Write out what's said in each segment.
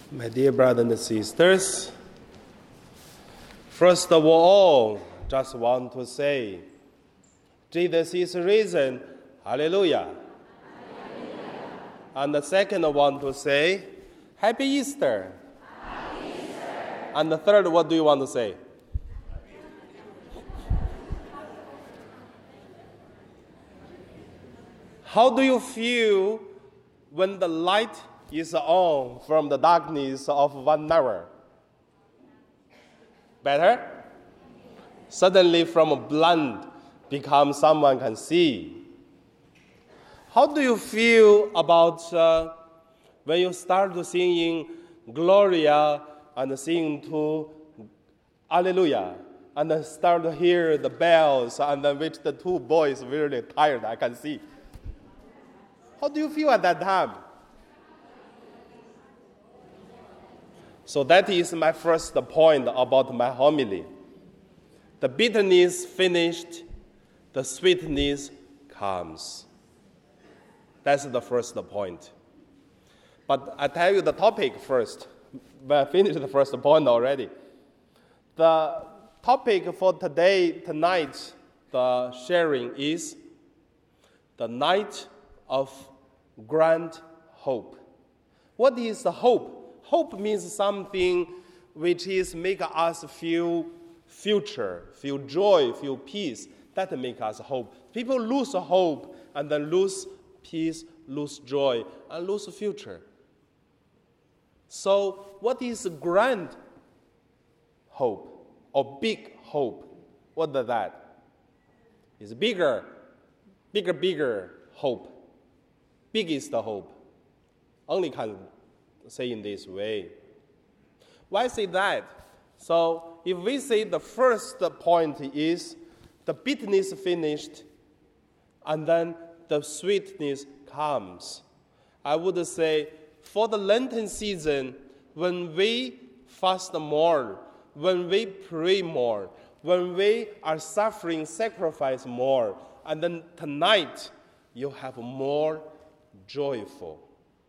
My dear brothers and sisters, first of all, just want to say, Jesus is risen, hallelujah. And the second I want to say, Happy Easter. Happy Easter. And the third, what do you want to say? How do you feel when the light is on from the darkness of 1 hour? Better? Suddenly from blind become someone can see. How do you feel about when you start to singing Gloria and sing to Alleluia and then start to hear the bells and then which the two boys really tired, I can see. How do you feel at that time? So that is my first point about my homily. The bitterness finished, the sweetness comes. That's the first point. But I tell you the topic first. But I finished the first point already. The topic for tonight, the sharing is the night of grand hope. What is the hope? Hope means something which is make us feel future, feel joy, feel peace. That make us hope. People lose hope and then lose peace, lose joy, and lose future. So what is grand hope or big hope? What is that? It's bigger hope. Biggest hope. Only can say in this way. Why say that? So if we say the first point is the bitterness finished and then the sweetness comes, I would say for the Lenten season, when we fast more, when we pray more, when we are suffering sacrifice more, and then tonight you have more joyful.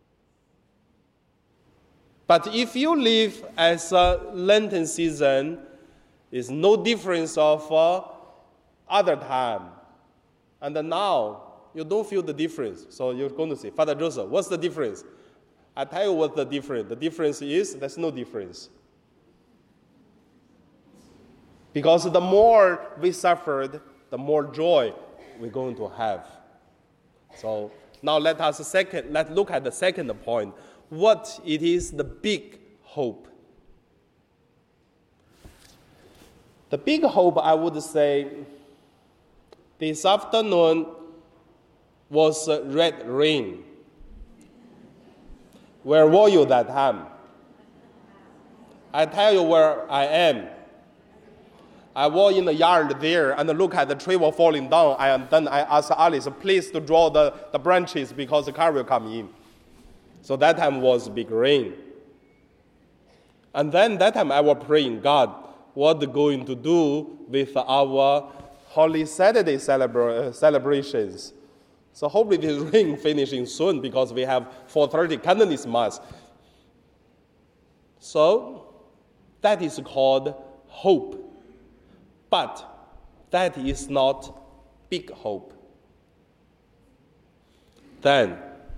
But if you live as a Lenten season, is no difference of other time. And then now, you don't feel the difference. So you're going to say, Father Joseph, what's the difference? I tell you what's the difference. The difference is there's no difference. Because the more we suffered, the more joy we're going to have. So now let's look at the second point. What it is the big hope. The big hope, I would say, this afternoon was red rain. Where were you that time? I tell you where I am. I was in the yard there and look at the tree was falling down. Then I asked Alice, please to draw the branches because the car will come in. So that time was big rain. And then that time I was praying, God, what going to do with our Holy Saturday celebrations? So hopefully this rain finishing soon because we have 4:30 Cantonese Mass. So that is called hope. But that is not big hope. Then,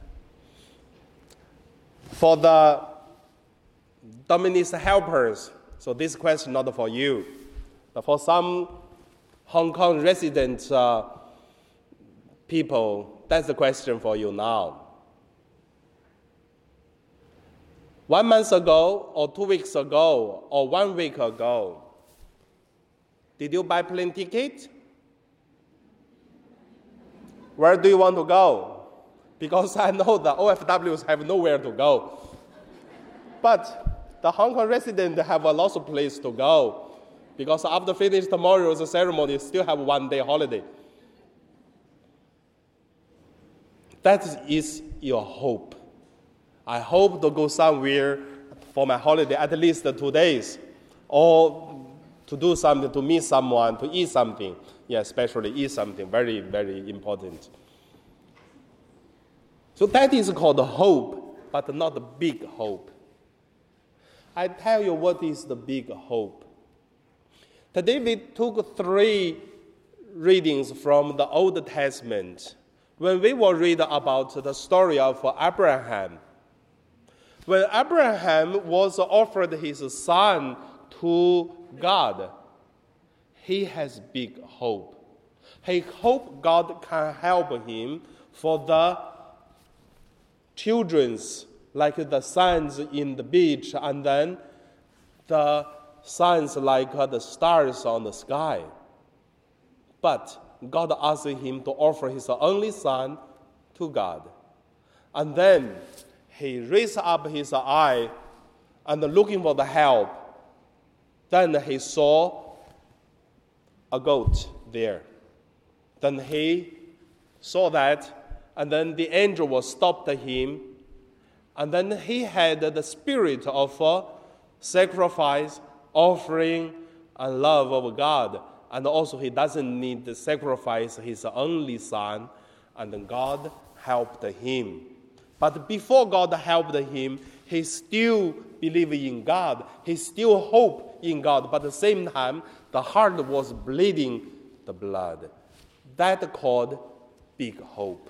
for the Dominican helpers, so this question not for you, but for some Hong Kong resident people, that's the question for you now. 1 month ago, or 2 weeks ago, or 1 week ago, did you buy plane ticket? Where do you want to go? Because I know the OFWs have nowhere to go. But the Hong Kong residents have a lot of place to go. Because after finish tomorrow's ceremony, still have 1 day holiday. That is your hope. I hope to go somewhere for my holiday, at least 2 days. Or to do something, to meet someone, to eat something. Yeah, especially eat something, very, very important. So that is called hope, but not a big hope. I tell you what is the big hope. Today we took 3 readings from the Old Testament. When we will read about the story of Abraham. When Abraham was offered his son to God, he has big hope. He hoped God can help him for the children's, like the sands in the beach, and then the sons like the stars on the sky. But God asked him to offer his only son to God. And then he raised up his eye and looking for the help. Then he saw a goat there. Then he saw that, and then the angel was stopped him. And then he had the spirit of sacrifice, offering, and love of God. And also he doesn't need to sacrifice his only son. And then God helped him. But before God helped him, he still believed in God. He still hoped in God. But at the same time, the heart was bleeding the blood. That called big hope.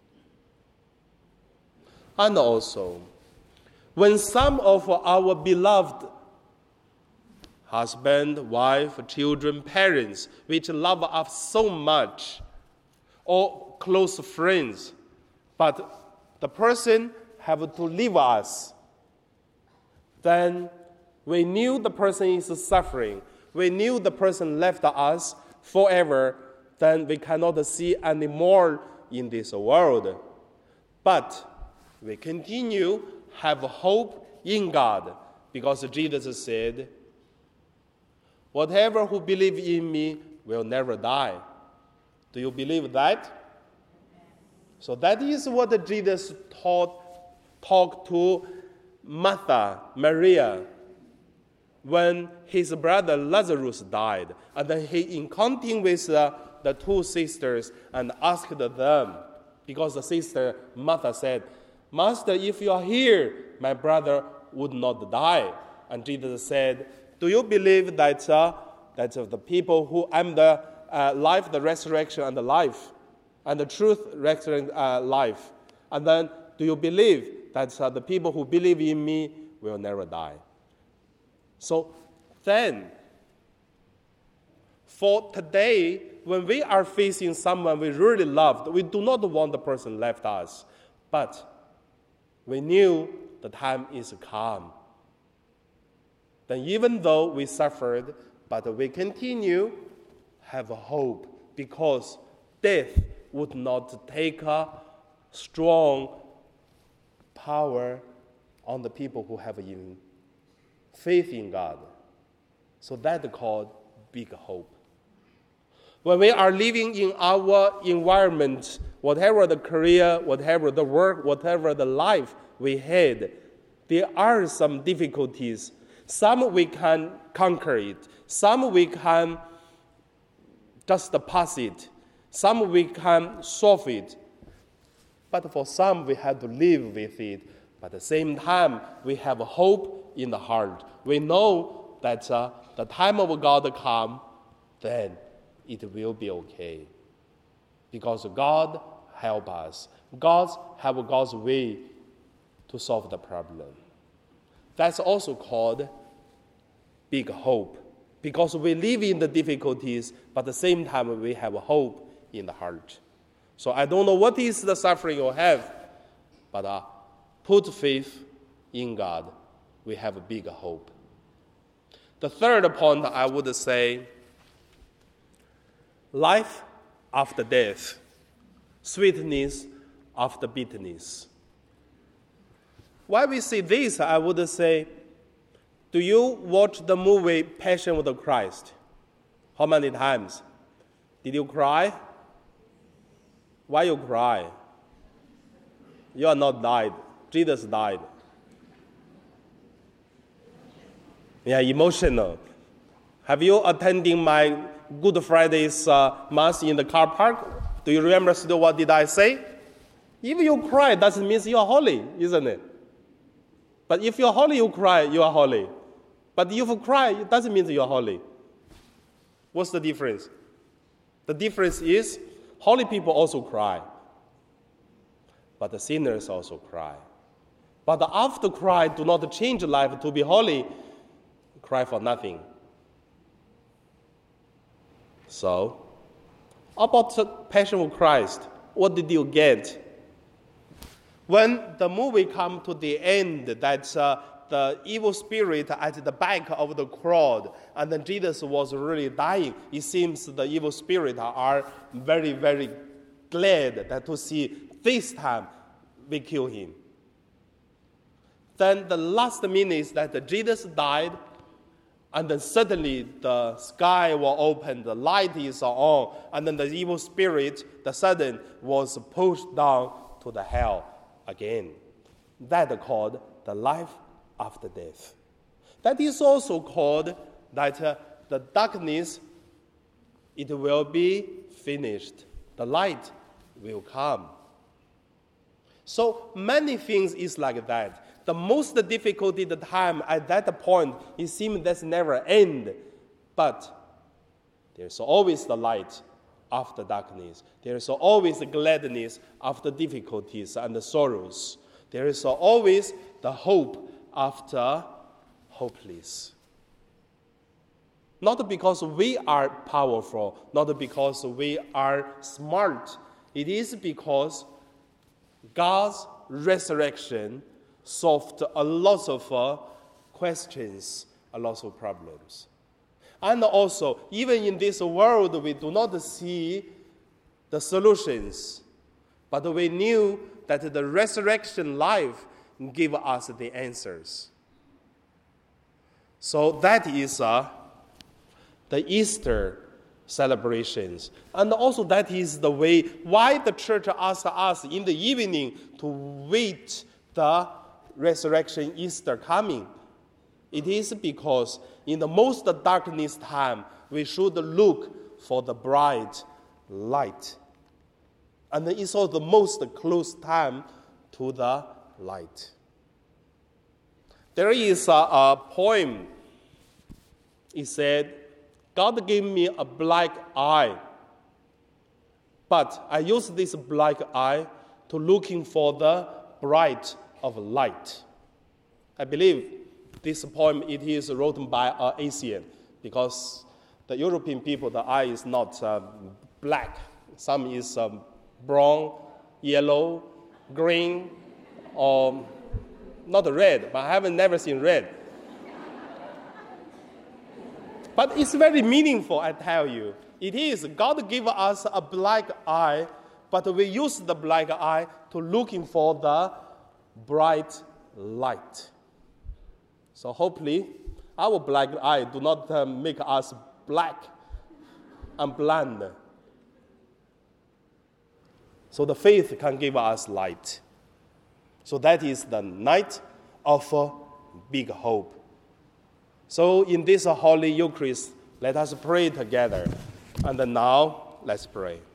And also, when some of our beloved husband, wife, children, parents, which love us so much, or close friends, but the person have to leave us, then we knew the person is suffering. We knew the person left us forever, then we cannot see anymore in this world. But we continue have hope in God, because Jesus said, whatever who believe in me will never die. Do you believe that? So that is what Jesus talked to Martha, Maria, when his brother Lazarus died. And then he encountered with the 2 sisters and asked them, because the sister Martha said, Master, if you are here, my brother would not die. And Jesus said, do you believe that the people who am the life, the resurrection, and the life, and the truth, resurrection, life? And then, do you believe that the people who believe in me will never die? So then, for today, when we are facing someone we really loved, we do not want the person left us, but we knew the time is come. Then even though we suffered, but we continue have hope, because death would not take a strong power on the people who have faith in God. So that's called big hope. When we are living in our environment, whatever the career, whatever the work, whatever the life we had, there are some difficulties. Some we can conquer it. Some we can just pass it. Some we can solve it. But for some, we have to live with it. But at the same time, we have hope in the heart. We know that the time of God come, then it will be okay. Because God help us. God have God's way to solve the problem. That's also called big hope. Because we live in the difficulties, but at the same time we have hope in the heart. So I don't know what is the suffering you have, but put faith in God. We have a big hope. The third point I would say, life after death, sweetness after bitterness. Why we say this, I would say, do you watch the movie Passion of the Christ? How many times? Did you cry? Why you cry? You are not died. Jesus died. Yeah, emotional. Have you attended my Good Friday's Mass in the car park? Do you remember still what did I say? If you cry, that means you are holy, isn't it? But if you're holy, you cry, you are holy. But if you cry, it doesn't mean you're holy. What's the difference? The difference is holy people also cry. But the sinners also cry. But after cry, do not change life to be holy. Cry for nothing. So, about the Passion of Christ, what did you get? When the movie come to the end, that the evil spirit at the back of the crowd, and then Jesus was really dying, it seems the evil spirit are very, very glad that to see this time we kill him. Then the last minute is that Jesus died, and then suddenly the sky was opened, the light is on, and then the evil spirit, the sudden, was pushed down to the hell again. That called the life after death. That is also called that the darkness, it will be finished. The light will come. So many things is like that. The most difficult time at that point, it seems that's never end. But there's always the light after darkness. There's always gladness after difficulties and sorrows. There is always the hope after hopeless. Not because we are powerful, not because we are smart. It is because God's resurrection solved a lot of questions, a lot of problems. And also, even in this world, we do not see the solutions, but we knew that the resurrection life gave us the answers. So that is the Easter celebrations. And also that is the way why the church asks us in the evening to wait the resurrection Easter coming. It is because in the most darkness time, we should look for the bright light. And it's also the most close time to the light. There is a poem. It said, God gave me a black eye, but I use this black eye to looking for the bright of light. I believe this poem, it is written by an Asian, because the European people, the eye is not black. Some is brown, yellow, green, or not red, but I haven't never seen red. But it's very meaningful, I tell you. It is. God gave us a black eye, but we use the black eye to looking for the bright light. So hopefully, our black eye do not make us black and blind. So the faith can give us light. So that is the night of big hope. So in this Holy Eucharist, let us pray together. And now, let's pray.